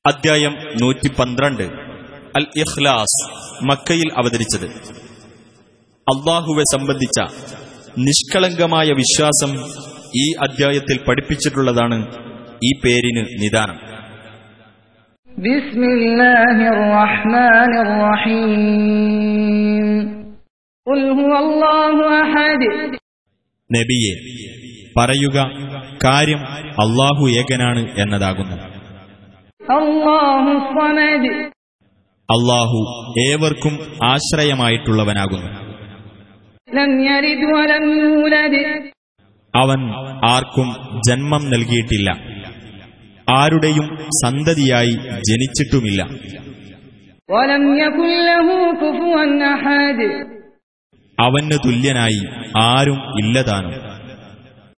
അദ്ധ്യായം 112 അൽ ഇഖ്ലാസ്. മക്കയിൽ അവതരിച്ചത്. അല്ലാഹുവെ സംബന്ധിച്ച നിഷ്കളങ്കമായ വിശ്വാസം ഈ അദ്ധ്യായത്തിൽ പഠിപ്പിച്ചിട്ടുള്ളതാണ് ഈ പേരിന് നിദാനം. ബിസ്മില്ലാഹിർ റഹ്മാനിർ റഹീം. ഖുൽ ഹുവല്ലാഹു അഹദ്. നബിയെ പറയുക, കാര്യം അല്ലാഹു ഏകനാണ് എന്നതാകുന്നു. അല്ലാഹു സ്വമദ്. അല്ലാഹു ഏവർക്കും ആശ്രയമായിട്ടുള്ളവനാകുന്നു. ലം യലിദ് വലം യൂലദ്. അവൻ ആർക്കും ജന്മം നൽകിയിട്ടില്ല, ആരുടെയും സന്തതിയായി ജനിച്ചിട്ടുമില്ല. വലം യകുൽ ലഹു കുഫുവൻ അഹദ്. അവന് തുല്യനായി ആരും ഇല്ലതാനും.